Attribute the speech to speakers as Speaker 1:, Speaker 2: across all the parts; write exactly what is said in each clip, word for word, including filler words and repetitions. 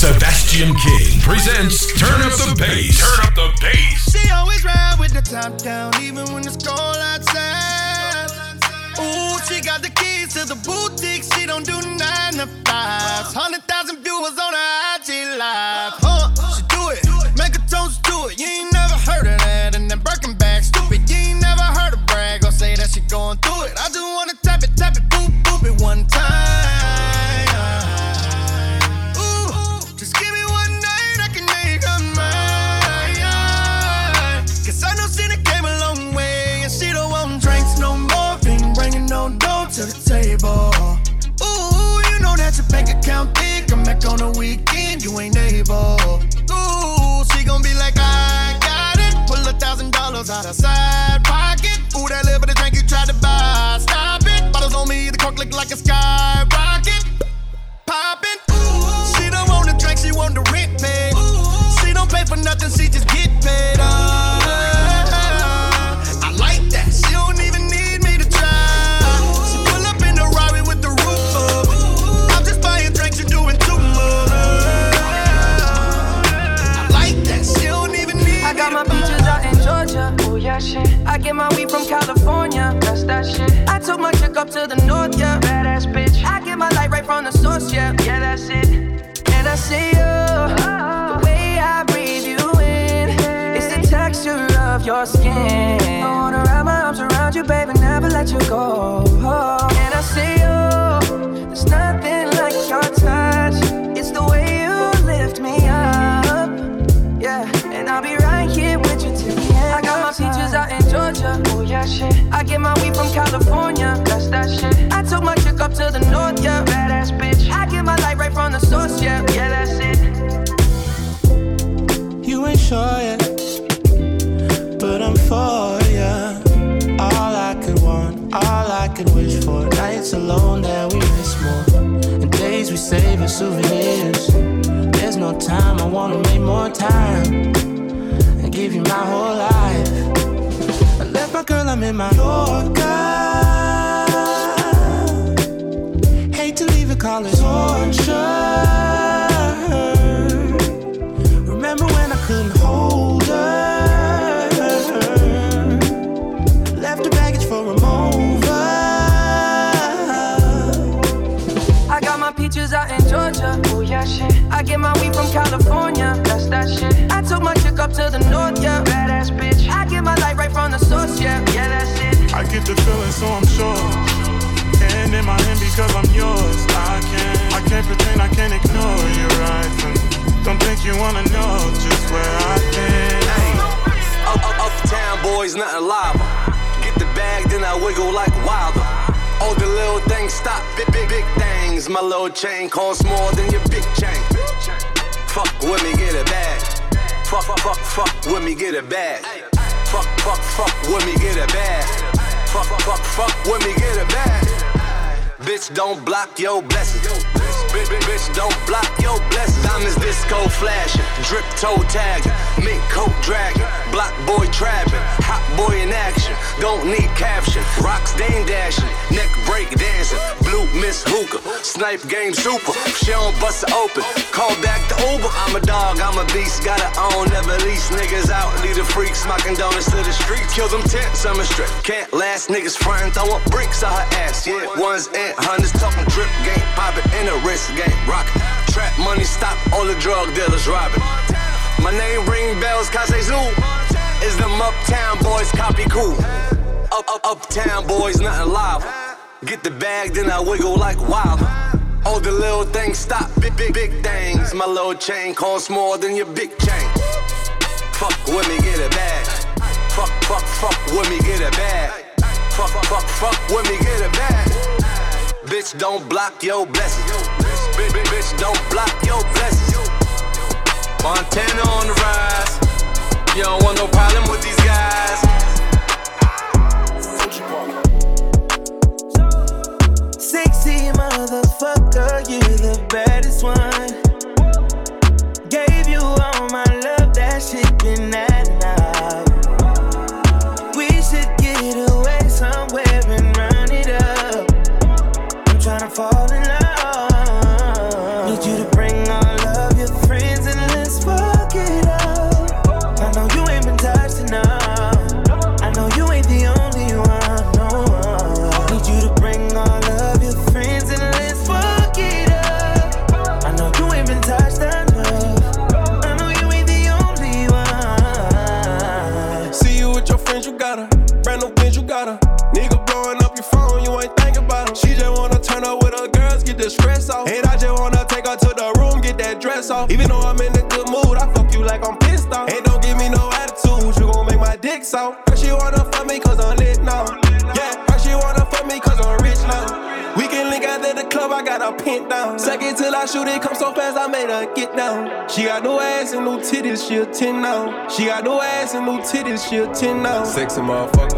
Speaker 1: Sebastian King presents Turn Up the Bass. Turn Up the Bass.
Speaker 2: She always ride with the top down, even when it's cold outside. Ooh, she got the keys to the boutique. She don't do nine to fives. Hundred thousand viewers on her I G live. Huh? She do it, make a toast to it. You ain't never heard of that. And then Birkin bag, stupid. You ain't never heard her brag or say that she going through it. I just wanna tap it, tap it, boop, boop it one time. To the table. Ooh, you know that your bank account big. Come back on the weekend, you ain't able. Ooh, she gon' be like, I got it. Pull a thousand dollars out of side pocket. Ooh, that little bit of drink you tried to buy. Stop it. Bottles on me, the cork look like a skyrocket. Poppin'. Ooh, she don't want the drink, she want the rent paid. Ooh, she don't pay for nothing, she just get paid. Uh, I like that. She don't even need me to try.
Speaker 3: Oh yeah, shit. I get my weed from California, that's that shit. I took my chick up to the north, yeah. Badass bitch. I get my light right from the source, yeah. Yeah, that's it. And I see you, oh. The way I breathe you in, it's the texture of your skin. I wanna wrap my arms around you, baby, never let you go. Oh. And I see you, there's nothing like your touch. It's the way you lift me up, yeah. And I'll be right here with you till the end. I got my peaches out in Georgia, oh yeah, shit. I get my weed from California, that's that shit. I took my chick up to the north, yeah. Badass bitch. I get my light right from the source, yeah. Yeah, that's it.
Speaker 4: You ain't sure yet, but I'm for ya. All I could want, all I could wish for. Nights alone that we miss more, and days we save as souvenirs. There's no time, I wanna make more time and give you my whole life. I left my girl, I'm in my Yorker. Hate to leave it, call it torture. Remember when I couldn't hold her? Left the baggage for a mover.
Speaker 3: I got my peaches out in Georgia, oh yeah, shit. I get my weed from California, that's that shit. I took my chick up to the north, yeah. Badass bitch. I get my light right from the source, yeah. Yeah, that's it.
Speaker 5: I get the feeling, so I'm sure. And in my hand because I'm yours. I can't, I can't pretend, I can't ignore you, right? And don't think you wanna know just where I've been.
Speaker 6: Hey, up, up, uptown boys, nothing live. Get the bag, then I wiggle like Wilder. All the little things stop, big, big, big things. My little chain costs more than your big chain. Fuck with me, get it bag. Fuck, fuck, fuck, fuck with me, get it bag. Fuck, fuck, fuck with me, get it bag. Fuck, fuck, fuck with me, get it bag. Bitch, don't block your blessings. Bitch, bitch, bitch, don't block your blessings. Diamonds disco flashing, drip toe tagging, mink coat dragging, block boy trapping, hot boy in action. Don't need caption, rocks dame dashing, neck break dancing, blue miss hookah, snipe game super. She don't bust it open, call back the Uber. I'm a dog, I'm a beast, gotta own, never lease niggas out. Lead the freaks, smocking donuts to the streets. Kill them tents, I'm a strip. Can't last niggas frontin', throwin' bricks on her ass. Yeah, ones and hundreds, talking drip game, poppin' in a wrist game, rockin'. Trap money, stop all the drug dealers robbing. My name ring bells, Kase Zoo. Is them uptown boys copy cool? Up, up, uptown boys, nothing live. Get the bag, then I wiggle like wild. All the little things stop, big, big, big things. My little chain costs more than your big chain. Fuck with me, get a bag. Fuck, fuck, fuck with me, get a bag. Fuck, fuck, fuck with me, get a bag. Bitch, don't block your blessings. Bitch, bitch, bitch, don't block your blessings. Montana on the rise. You don't want no problem with these guys.
Speaker 4: Sexy motherfucker, you the baddest one. Gave you all my love, that shit been that now. We should get away somewhere and run it up. I'm tryna fall in love. Need you to bring all of your
Speaker 7: that dress off. Even though I'm in a good mood, I fuck you like I'm pissed off. Hey, don't give me no attitude, you gon' make my dick soft. Her she wanna fuck me cause I'm lit now. Yeah, her she wanna fuck me cause I'm rich now. We can link out at the club, I got her pinned down. Second till I shoot it, come so fast, I made her get down. She got no ass and no titties, she a ten now. She got no ass and no titties, she a ten now. Sexy motherfucker.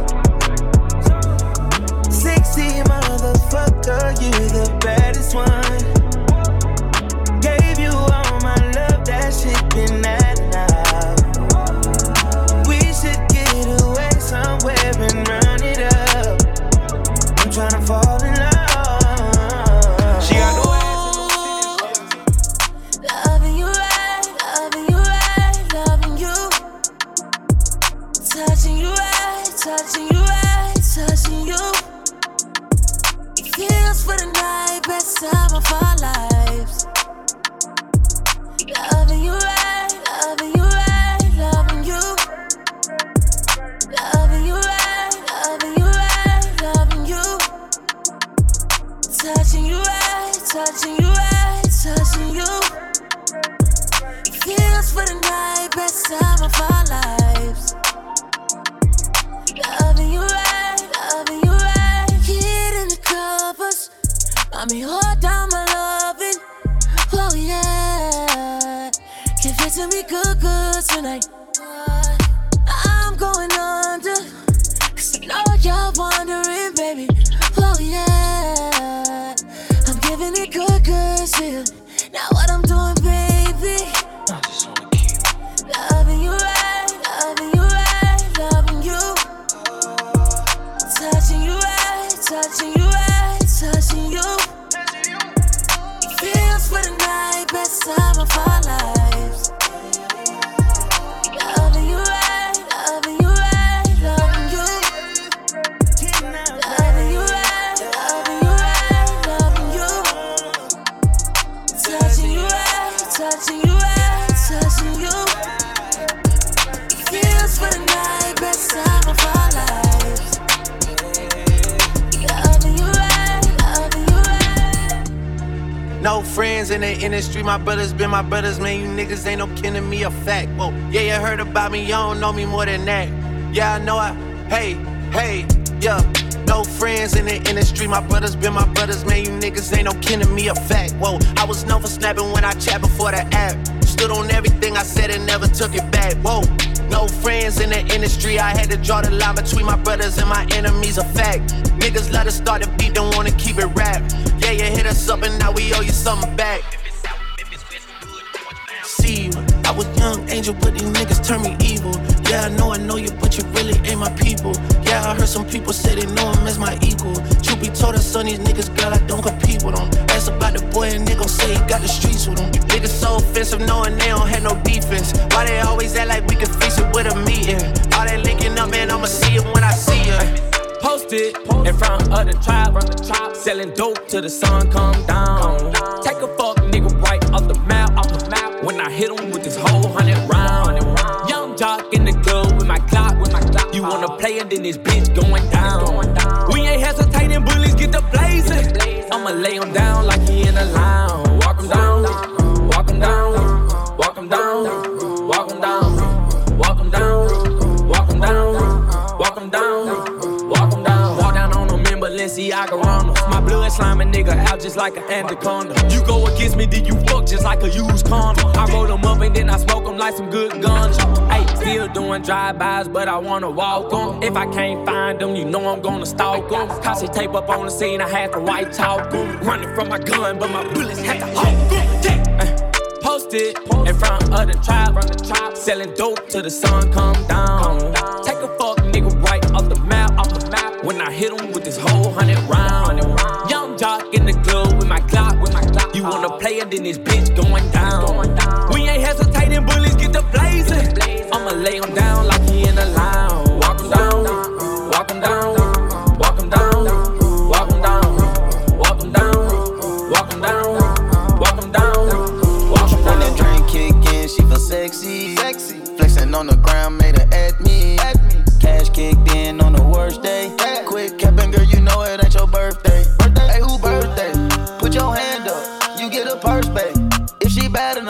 Speaker 8: Sexy motherfucker, you the baddest one. Gave you all my love, that shit been at now. We should get away somewhere and run it up. I'm tryna fall in love.
Speaker 7: She got no ass and no titties.
Speaker 9: Loving you right, loving you right, loving you. Touching you right, touching you right, touching you. Feels for the night, best time of our lives. Loving you right, loving you right, loving you. Loving you right, loving you right, loving you. Touching you right, touching you right, touching you. Feels for the night, best time of our lives. Loving you right, loving you right. Kid in the covers, mommy hold down my loving. Oh yeah, give it to me good, good tonight. I'm going under, cause I know you're wondering, baby. Oh yeah, I'm giving it good, good still. Now what I'm doing, baby, I just wanna keep loving you right, loving you right, loving you. Touching you right, touching you right, touching you. Feels for the night, best time of our lives. Loving you right, loving you right, loving you. Loving you right, loving you right, loving you. Touching you right, touching you right, touching you. Feels for the night, best time of our lives. Loving you right, loving you right.
Speaker 4: No friends in the industry, my brothers been my brothers, man. You niggas ain't no kin to me, a fact. Whoa, yeah, you heard about me, you don't know me more than that. Yeah, I know I, hey, hey, yeah. No friends in the industry, my brothers been my brothers, man. You niggas ain't no kin to me, a fact. Whoa, I was known for snapping when I chat before the app. Stood on everything I said and never took it back. Whoa, no friends in the industry, I had to draw the line between my brothers and my enemies, a fact. Niggas let us start the beat, don't wanna keep it rap. Yeah, you hit us up and now we owe you something back. See you, I was young angel, but these niggas turn me evil. Yeah, I know I know you, but you really ain't my people. Yeah, I heard some people say they know him as my equal. Truth be told, son, these niggas, girl, I don't compete with them. Ask about the boy and they gon' say he got the streets with him. You niggas so offensive, knowing they don't have no defense. Why they always act like we can fix it with a meeting? All that linking up, man, I'ma see it when I see it.
Speaker 10: Posted in front of the tribe, selling dope till the sun come down. Take a fuck nigga right off the map, off the map. When I hit him with this whole hundred round. Young jock in the club with my clock, with my clock. You wanna play it, then this bitch going down. We ain't hesitating, bullies get the blazing. I'ma lay him down like he in a lounge. Walk him down, walk him down, walk him down, walk him down, walk him down, walk him down, walk him down. Balenciaga runners. My blood sliming nigga out just like an anaconda. You go against me, then you fuck just like a used condom. I roll them up and then I smoke them like some good guns. Hey, still doing drive-bys, but I wanna walk them. If I can't find them, you know I'm gonna stalk them. Cause tape up on the scene, I had to white talk them. Running from my gun, but my bullets had to hawk them. Yeah. Posted in front of the tribe, selling dope till the sun come down. Take a fuck nigga right off the map, off the map. When I hit him with this whole hundred round. Young jock in the club with my clock, with my clock. You wanna play it, then this bitch going down. We ain't hesitating, bullies get the blazing. I'ma lay him down like he in a lounge. Walk him down, walk him down, walk him down, walk him down, walk him down, walk him down, walk him down.
Speaker 11: When that drink kick in, she feel sexy. sexy. Flexing on the ground, made her at me. At me. Cash kicked in on the worst day. Yeah. Quick capping, girl, you know it ain't your birthday. birthday. Hey, who birthday? Put your hand up, you get a purse back. If she bad enough,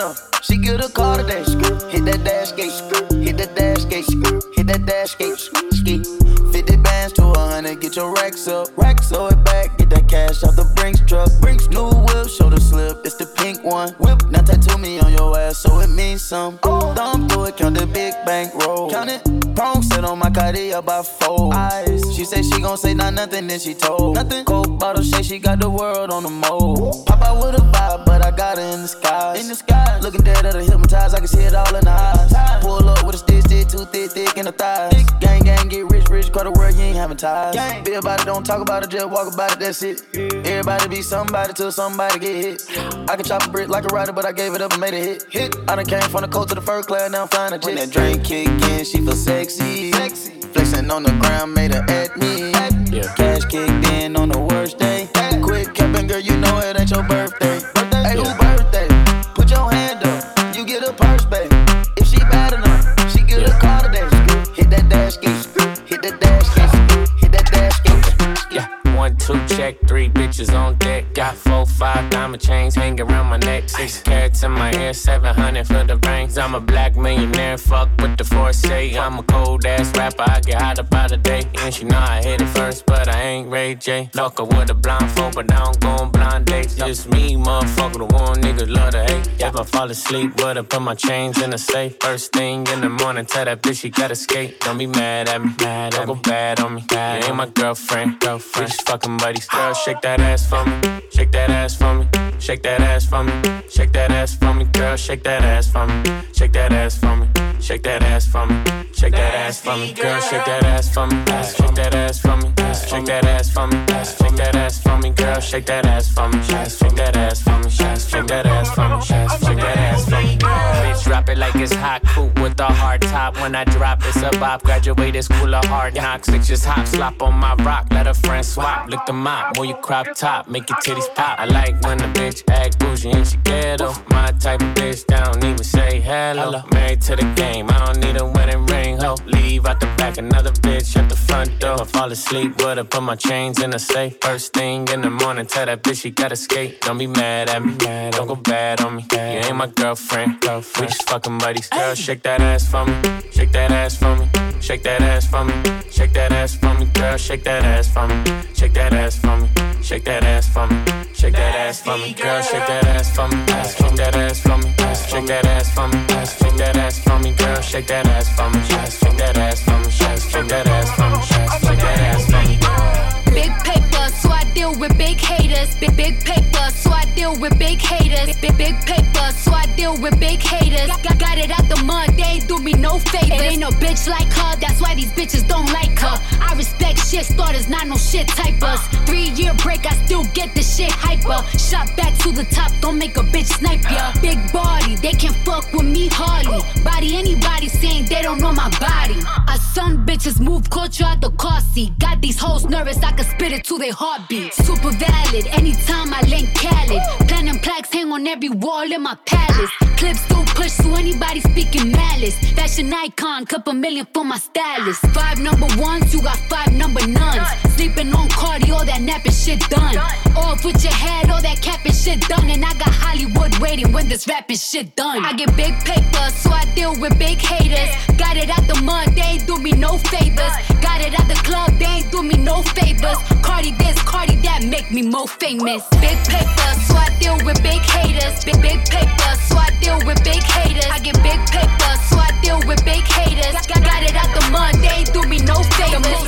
Speaker 11: enough. She get a car today. Hit that dash gate. Hit that dash gate. Hit that dash gate. Ski. fifty bands to a hundred. Get your racks up. Racks throw it back. Get that cash off the Brinks truck. Brinks new whip. Shoulder slip. It's the pink one. Whip. Now tattoo me on your ass so it means some. Thumb through it. Count the big bank roll. Count it. Prong set on my Cartier by four. Eyes. She said she gon' say not nothing. Then she told. Nothing. Coke bottle shake. She got the world on the mold. Pop out with a vibe, but I got her in the skies. In the skies. Looking dead at her hypnotized. I can see it all in the eyes. Pull up with a stick, stick, too thick, thick in the thighs. Gang, gang, get rich, rich, call the world, you ain't having ties. Gang. Be about it, don't talk about it, just walk about it, that's it. Everybody be somebody till somebody get hit. I can chop a brick like a rider, but I gave it up and made it hit. Hit. I done came from the coast to the first class, now I'm flying a jet. When that drink kick in, she feel sexy. Sexy. Flexing on the ground, made her at me. Yeah. Cash kicked in on the worst day. Quick capping, girl, you know it ain't your birthday. birthday. Hey, who birthday? Put your hand up, you get a purse, babe. If she bad enough, she get yeah. a car today. Hit that dash gate, hit that dash gate, hit that dash gate.
Speaker 10: Yeah, one, two, check, three bitches on deck. Got four, five diamond chains hanging around my neck. Six carats in my ear, seven hundred for the rings. I'm a black millionaire, fuck what the force say. I'm a cold ass rapper, I get hot about a day. And she know I hit it first, but I ain't Ray J. Fuck her with a blindfold, but I don't go on blind dates. Just me, motherfucker, the one niggas love to hate. If I fall asleep, but I put my chains in the safe. First thing in the morning, tell that bitch she gotta skate. Don't be mad at me, mad don't go bad on me. Bad you ain't my girlfriend, girlfriend. Just fucking buddies. Girl, shake that ass for me, shake that ass for me, shake that ass for me, shake that ass for me. Girl, shake that ass for me, shake that ass for me, shake that ass for me, shake that ass for me. Girl, shake that ass for me, shake that ass for me, shake that ass for me, shake that ass for me. Girl, shake that ass for me, shake that ass for me, shake that ass for me, shake that ass for me. Bitch, drop it like it's hot, cool with a hard top. When I drop, it's a bop. Graduated school of hard knocks. Bitch, just hop, slop on my rock. Let a friend swap, lick the mop, move your crop top, make your titties pop. I like when a bitch act bougie and she ghetto. My type of bitch that don't even say hello. Married to the game, I don't need a wedding ring, ho. Leave out the back, another bitch at the front door. I fall asleep, but I put my chains in the safe. First thing in the morning, tell that bitch she gotta skate. Don't be mad at me, don't go bad on me. You ain't my girlfriend, we just fucking buddies. Girl, shake that ass for me, shake that ass for me, shake that ass for me, shake that ass for me. Girl, shake that ass for me, shake that ass for me, shake that ass for me, shake that ass for me. Girl, shake that ass for me, shake that ass for me, shake that ass for me, shake that ass for me. Girl, shake that ass for me, shake that ass for me, shake that ass for me, shake that ass for me.
Speaker 12: Big paper, so I deal with big haters. Big big paper, so I deal with big haters. Big big paper, so I deal with big haters. Got, got it out the mud, they ain't do me no favors. It ain't no bitch like her, that's why these bitches don't like her. I respect shit starters, not no shit typers. Three year break, I still get the shit hyper. Shot back to the top, don't make a bitch snipe ya. Big body, they can't fuck with me hardly. Body anybody saying they don't know my body. I some bitches move culture out the car seat. Got these hoes nervous, I can spit it to their heartbeat. Super valid, anytime I link Khaled. Platinum plaques hang on every wall in my palace. Clips still push to anybody speaking malice. Fashion icon, couple million for my stylist. Five number ones, you got five number nuns. Sleeping on Cardi, all that napping shit done. Off with your head, all that capping shit done. And I got Hollywood waiting when this rapping shit done. I get big paper, so I deal with big haters. Got it out the mud, they ain't do me no favors. Got it out the club, they ain't do me no favors. Cardi this, Cardi that, make me more famous. Big paper, so I deal with big haters. Big big paper, so I deal with big haters. I get big paper, so I deal with big haters. Got, got it out the mud, they ain't do me no favors.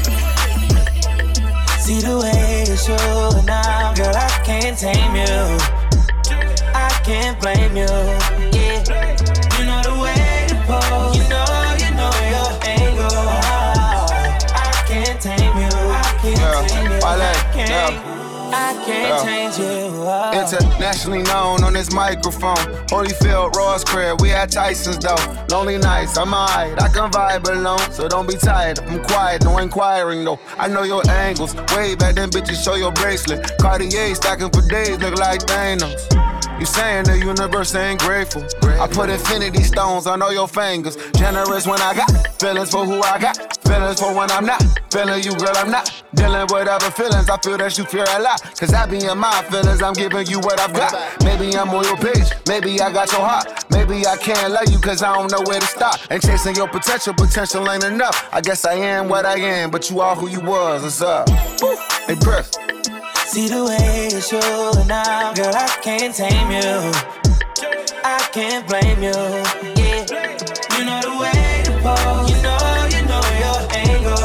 Speaker 8: See the way you're showing now, girl, I can't tame you. I can't blame you. Yeah, you know the way to pose. You know, you know your angle. I can't tame you. I can't yeah. tame you. I can't. Yeah. I can't yeah. change you. Oh.
Speaker 13: Internationally known on this microphone. Holyfield, Ross Crab, we at Tyson's though. Lonely nights, I'm alright, I can vibe alone. So don't be tired, I'm quiet, no inquiring though. I know your angles, way back then bitches show your bracelet. Cartier stacking for days, look like Thanos. You saying the universe ain't grateful. I put infinity stones on all your fingers. Generous when I got feelings for who I got. Feelings for when I'm not. Feeling you, girl, I'm not. Dealing with other feelings, I feel that you fear a lot. Cause I be in my feelings, I'm giving you what I've got. Maybe I'm on your page, maybe I got your heart. Maybe I can't love you cause I don't know where to stop. And chasing your potential, potential ain't enough. I guess I am what I am, but you are who you was, what's up? Hey, Press.
Speaker 8: See the way you're showing now, girl, I can't tame you. I can't blame you, yeah. You know the way to pose, you know, you know your angle.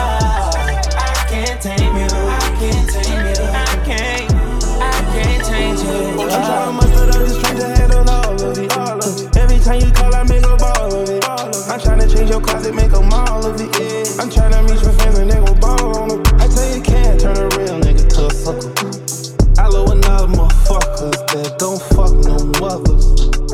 Speaker 8: I can't tame you, I can't tame you, I can't, I can't change you. I'm trying to muster up this strength to handle all of it, all of it. Every time you call, I make a ball of it. I'm trying to change your closet, make a mall of it, yeah. I'm trying to meet your friends and they gon' ball on them. I tell you, can't turn a real nigga to a sucker. I love another motherfuckers that don't fuck no mothers.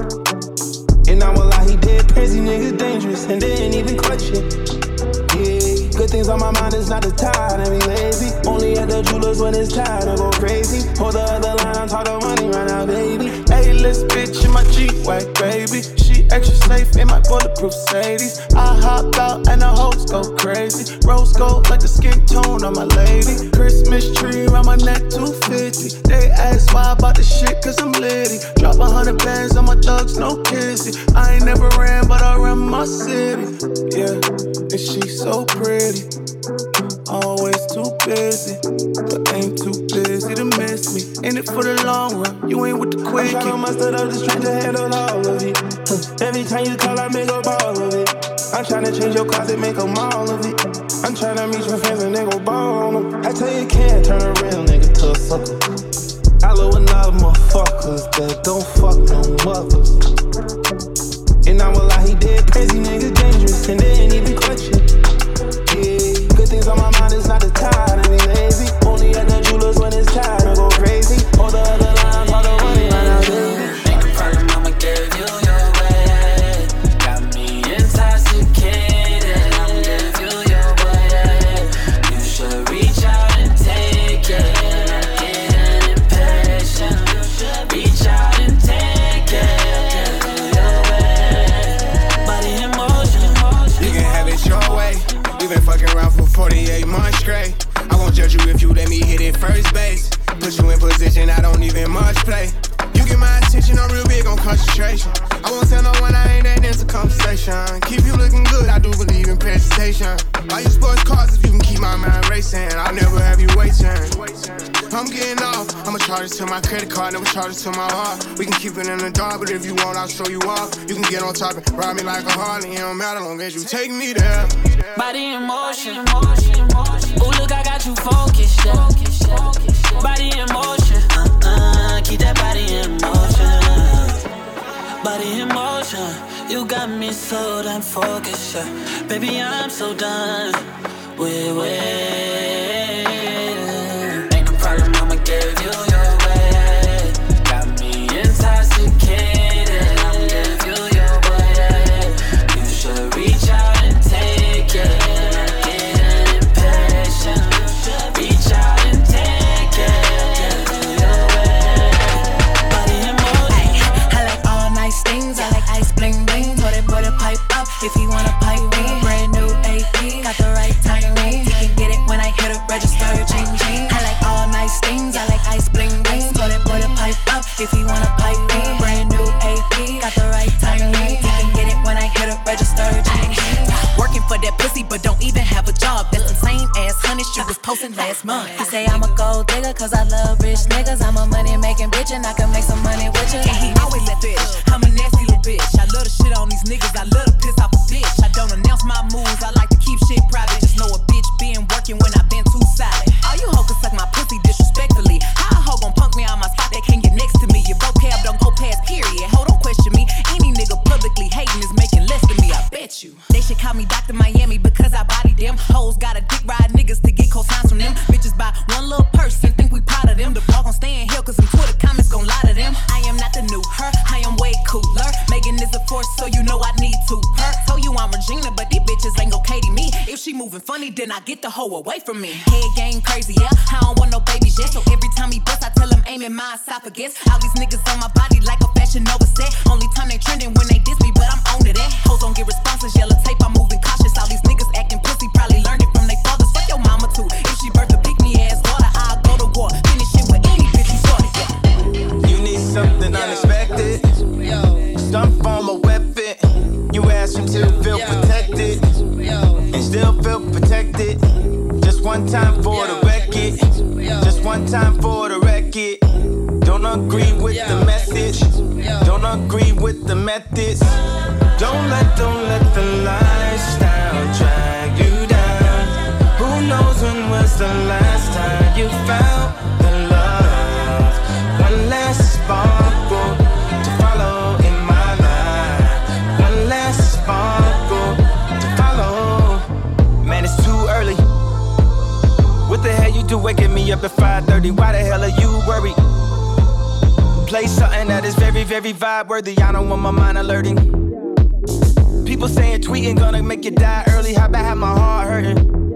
Speaker 8: And I'm a lie, he dead crazy, niggas dangerous, and they ain't even clutch it. Yeah, good things on my mind, it's not the time to be lazy. Only at the jewelers when it's time to go crazy. Hold the other line, I'm talking money right now, baby. A-list bitch in my G-Wagon, baby. She extra safe in my bulletproof Sadie's. I hop out and the hoes go crazy. Rose gold like the skin tone on my lady. Christmas tree around my neck, two fifty. They ask why I bought the shit, cause I'm litty. Drop a hundred bands on my thugs, no kissy. I ain't never ran, but I run my city. Yeah, and she so pretty. Always too busy, but ain't too busy to miss me. In it for the long run, you ain't with the quickie. I'm tryna muster up the strength to handle all of it. Every time you call, I make a ball of it. I'm tryna change your closet, make a mall of it. I'm tryna meet your friends and they gon' ball on them. I tell you, can't turn a real nigga to a sucker. I love another motherfuckers that don't fuck no mothers. And I'm a lie, he dead crazy, niggas dangerous, and they ain't even clutch it. Yeah, good things on my mind, it's not the time to be lazy. Only at the jewelers when it's time to go crazy. Hold the other line, all the money right now, baby.
Speaker 14: Make a problem, I'ma give you your way. Got me intoxicated, I'll give you your way. You should reach out and take it. I'm getting impatient. Reach out and take it. Give you your way. Body in motion.
Speaker 15: You can have it your way. We been fucking around for forty-eight months straight. I won't judge you if you let me hit it first base. Put you in position, I don't even much play. You get my attention, I'm real big on concentration. I won't tell no one I ain't that into conversation. Keep you looking good, I do believe in presentation. Buy you sports cars if you can keep my mind racing. I'll never have you waiting. I'm getting off, I'ma charge it to my credit card, never charge it to my heart. We can keep it in the dark, but if you want, I'll show you off. You can get on top and ride me like a Harley. It don't matter long as you take me there.
Speaker 14: Body in motion. Ooh, look, I got you focused, yeah. Body in motion. Uh-uh, keep that body in motion. Body in motion. You got me so damn focused, yeah. Baby, I'm so done with waiting. Ain't no problem, I'ma give you your way. Got me intoxicated, I'll give you your way. You should reach out and take it. I'm getting impatient. Reach out and take it. Give you your way. Body in motion.
Speaker 16: I like all nice things. I like ice bling bling. Put it, put it pipe up if you wanna pipe me. Brand new A P, got the right timing. You can get it when I hit a register, ching ching. I like all nice things. I like ice bling bling. Put it, put it pipe up if you wanna pipe me. Brand new A P, got the right timing. You can get it when I hit a register, ching ching.
Speaker 17: Working for that pussy, but don't even have a job. That's the same ass honey she was posting last month.
Speaker 16: He say I'm a gold digger cause I love rich niggas. I'm a money making bitch and I can make some money with you.
Speaker 17: And he always let bitch. I'm a nasty little bitch. I love to shit on these niggas. I love to piss off a bitch. I don't announce my moves. I like to keep shit private. Just know a bitch been working when I been too solid. All you hoes can suck my pussy disrespectfully. How a hoe gon' punk me on my spot? They can't get next to me. Your vocab don't go past period. Ho, don't question me. Any nigga publicly hating is making less than me. I bet you. They should call me Doctor Miami because I body them. Hoes gotta dick ride niggas to get cosigns from them. Bitches buy one little person, think we proud of them. The ball gon' stay in here cause some Twitter comments gon' lie to them. I am not the new her, I am way cooler. Megan is a force, so you know I need to her. Told you I'm Regina, but these bitches ain't gon' Katie me. If she moving funny, then I get the hoe away from me. Head game crazy, yeah. I don't want no babies yet. So every time he bust, I tell him aim in my esophagus. All these niggas on my body like a fashion Nova set. Only time they trending when they diss me, but I'm on to that. Hoes don't get responses, yellow tape, I'm moving cautious. All these niggas acting pussy, probably learned it from their fathers. Fuck your mama too. If she birthed a pick me ass daughter, I'll go to war. Finish it with any bitch who started, yeah.
Speaker 11: You need something unexpected. Some form of weapon. You ask him to feel protected and still feel protected. Just one time for the record. Just one time for the record. Don't agree with the message. Don't agree with the methods. Don't let, don't let the lifestyle drag you down. Who knows when was the last time you found the love? One last sparkle to follow in my life. One last sparkle to follow. Man, it's too early. What the hell you do waking me up at five thirty? Why the hell are you worried? Play something that is very, very vibe worthy. I don't want my mind alerting. People saying tweeting gonna make you die early. How about have my heart hurting?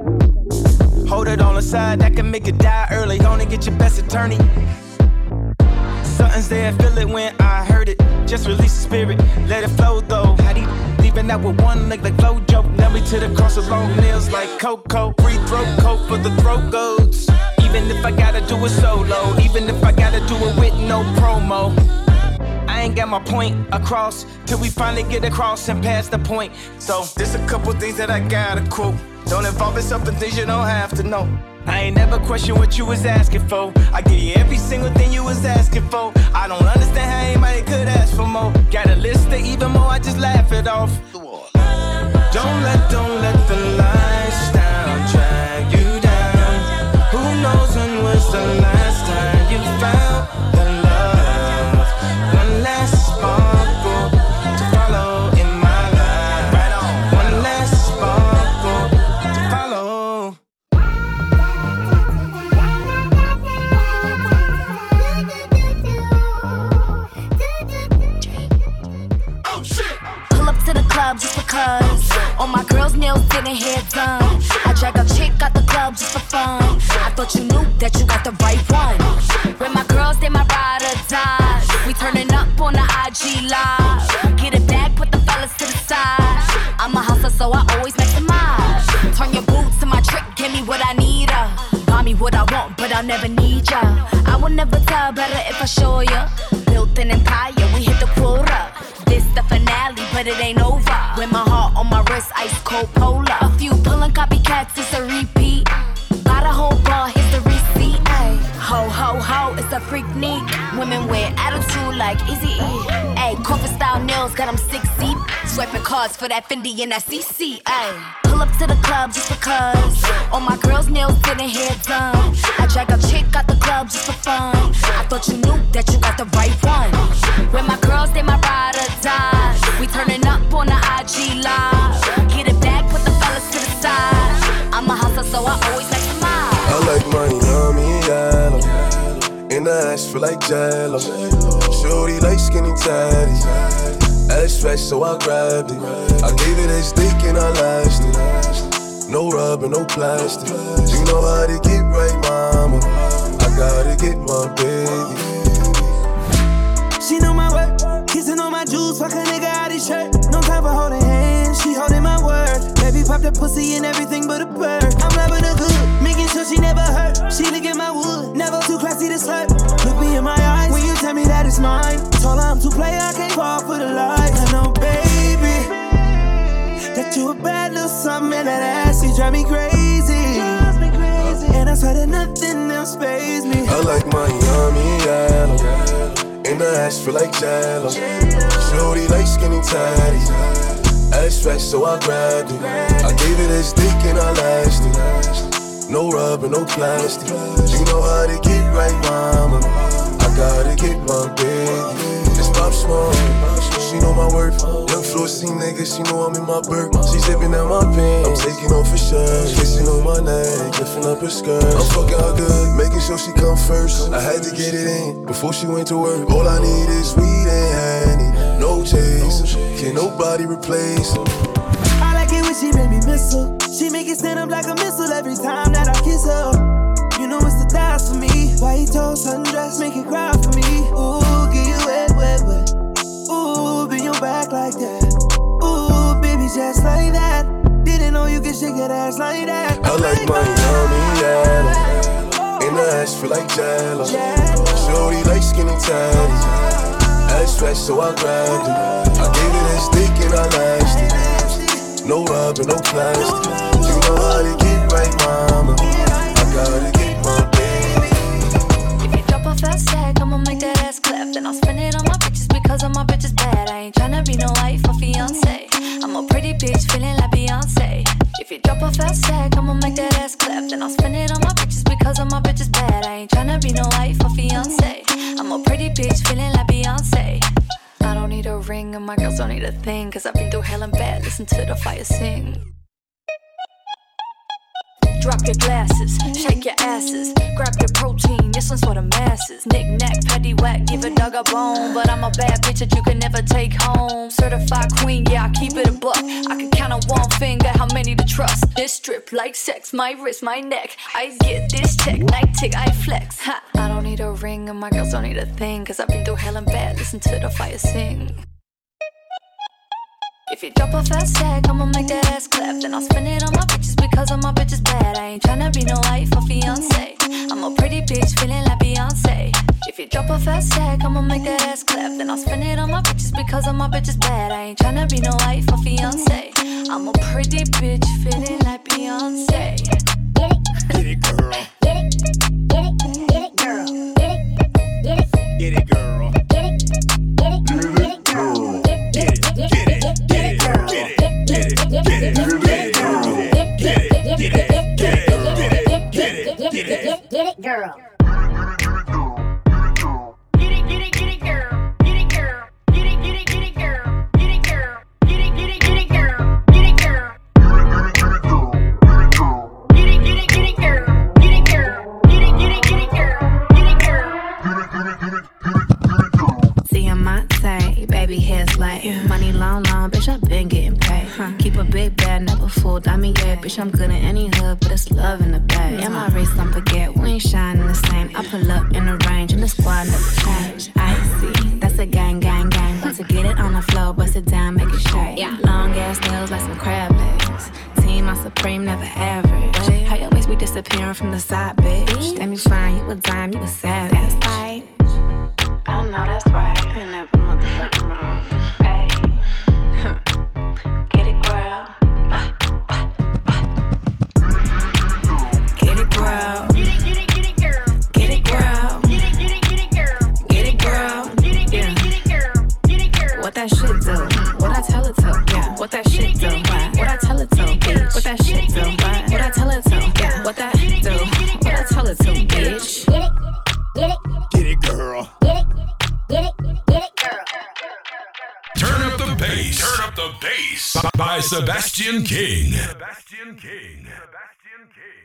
Speaker 11: Hold it on the side, that can make you die early. Gonna get your best attorney. Something's there, feel it when I heard it. Just release the spirit, let it flow though. How do you leaving out with one leg like Flojo? Nail me to the cross with long nails like Coco. Free throat coat for the throat goats. Even if I gotta do it solo, even if I gotta do it with no promo. I ain't got my point across till we finally get across and pass the point. So there's a couple things that I gotta quote. Don't involve yourself in things you don't have to know. I ain't never question what you was asking for. I give you every single thing you was asking for. I don't understand how anybody could ask for more. Got a list of even more, I just laugh it off. Don't let, don't let the lifestyle drag you down. Who knows when was the last time you found the love? One last sparkle to follow in my life. Right on. One last sparkle to follow.
Speaker 9: Pull up to the club just because all my girls' nails didn't hair done. I drag a chick out the club just for fun. I thought you knew that you got the right one. When my girls, they my ride or die. We turning up on the I G live. Get it back, put the fellas to the side. I'm a hustler, so I always maximize. Turn your boots to my trick, give me what I need. Uh. Buy me what I want, but I'll never need ya. I will never tell better if I show ya. Built an empire, we hit the quota. This the finale, but it ain't over. With my heart on my wrist, ice cold polar. A few pulling copycats, it's a repeat. Got a whole bar, here's the receipt. Ay. Ho, ho, ho, it's a freak neat. Women with attitude like Eazy-E. Ay, corporate style nails, got them six deep. Swiping cards for that Fendi and that C C. Ay. Pull up to the club just because all my girls' nails didn't hair done. I drag a chick out the club just for fun. I thought you knew that you got the right one. When my girls, they my ride or die. We turning up on the I G live. Get it back, put the fellas to the side. I'm a hustler, so I always maximize.
Speaker 18: I like my yummy yellow. In the ass feel like jello. Shorty like skinny tatties. Ass fresh, so I grabbed it. I gave it a stick and I lashed it. No rubber, no plastic. You know how to get right, mama. I gotta get my baby.
Speaker 8: She know my work, kissing on my juice, fuck a nigga out his shirt. No time for holding hands, she holding my word. Baby pop the pussy and everything but a bird. I'm loving her good, making sure she never hurt. She look at my wood, never too classy to slurp. Look me in my eyes when you tell me that it's mine. Told her I'm too play, I can't fall for the lies. I know, baby, that you a bad little something and that ass, you drive me crazy. And I swear that nothing else pays me.
Speaker 18: I like my yummy yellow. In the ass feel like jello. Shorty like skinny tatties. Ass fresh, so I grabbed it. I gave it a stick and I lashed it. No rubber, no plastic. You know how to get right, mama. I gotta get my baby. It's Pop Smoke. She know my worth. Young floor C nigga, she know I'm in my birth. She zipping out my pants, I'm taking off her shirt. Kissing on my neck, lifting up her skirt. I'm fucking her good, making sure she come first. I had to get it in before she went to work. All I need is weed and honey, no chase. Can nobody replace her.
Speaker 8: I like it when she make me whistle. She make it stand up like a missile every time that I kiss her. You know it's the thighs for me. White toast, sundress, make it cry for me. Ooh, get you wet, wet, wet. Ooh, bend your back like that. Ooh, baby, just like that. Didn't know you could shake that ass like that.
Speaker 18: I like my yummy yellow. In the ass feel like jello. Shorty like skinny tatties. Ass fresh, so I grabbed it. I gave it a stick and I lashed it. No rubber, no plastic. You know how to get right, mama. I gotta get my baby.
Speaker 9: If you drop a fast tag, I'ma make that ass clap. Then I'll spend it on my bitches because all my bitches bad. I ain't tryna be no wife or fiance. I'm a pretty bitch feeling like Beyonce. If you drop a fast tag, I'ma make that ass clap. Then I'll spend it on my bitches because all my bitches bad. I ain't tryna be no wife or fiance. I'm a pretty bitch feeling like Beyonce. I don't need a ring and my girls don't need a thing, cause I've been through hell and bad, listen to the fire sing. Drop your glasses, shake your asses, grab your protein, this one's for the masses. Knick-knack, paddywhack, give a dog a bone, but I'm a bad bitch that you can never take home. Certified queen, yeah, I keep it a buck. I can count on one finger how many to trust. This strip like sex, my wrist, my neck. I get this check, night tick, I flex. Ha! I don't need a ring and my girls don't need a thing, cause I've been through hell and bad, listen to the fire sing. If you drop a fast tag, I'ma make that ass clap. Then I'll spend it on my bitches because all my bitches bad. I ain't tryna be no wife or fiance. I'm a pretty bitch feeling like Beyonce. If you drop a fast tag, I'ma make that ass clap. Then I'll spend it on my bitches because all my bitches bad. I ain't tryna be no wife or fiance. I'm a pretty bitch feeling like Beyonce.
Speaker 19: Get it, girl. Get it, get it, get it, girl. Get it, get it, get it, girl. Get it, get it, get it, girl. Get it, get it, get it, get it, girl. Get it, get it, get it, get it, girl. Get it, get it, get it, get it, get it, get it, get it, girl.
Speaker 16: Baby hair's like yeah. Money long, long, bitch, I been getting paid. Huh. Keep a big bag, never fooled. I mean, yeah, bitch, I'm good in any hood, but it's love in the bag. Yeah, my race, don't forget, we ain't shining the same. I pull up in the range, and the squad never change. I see, that's a gang, gang, gang. But to get it on the floor, bust it down, make it shake. Yeah. Long ass nails like some crab legs. Team, I'm supreme, never average. Wait. How your waist be disappearing from the side, bitch? Damn, you fine, you a dime, you a savage. That's right. I know that's right. I never motherfucking wrong. Hey, huh. Get it, girl. Get it, girl. Get it, get it, get it, girl. Get it, girl. Get it, get it, get it, girl. Get it, girl. Get it, get it, get it, girl. Get it, girl. What that shit do? What I tell it to? Yeah. What that shit do? What I tell it to? Bitch. What that shit do? What I tell it to? Yeah. What that do? What I tell it to? Bitch. Get it, get it,
Speaker 19: get it, girl.
Speaker 16: Get it. Get it, get it, girl.
Speaker 1: Turn up the bass. Turn up the bass. By Sebastian King. Sebastian King. Sebastian King.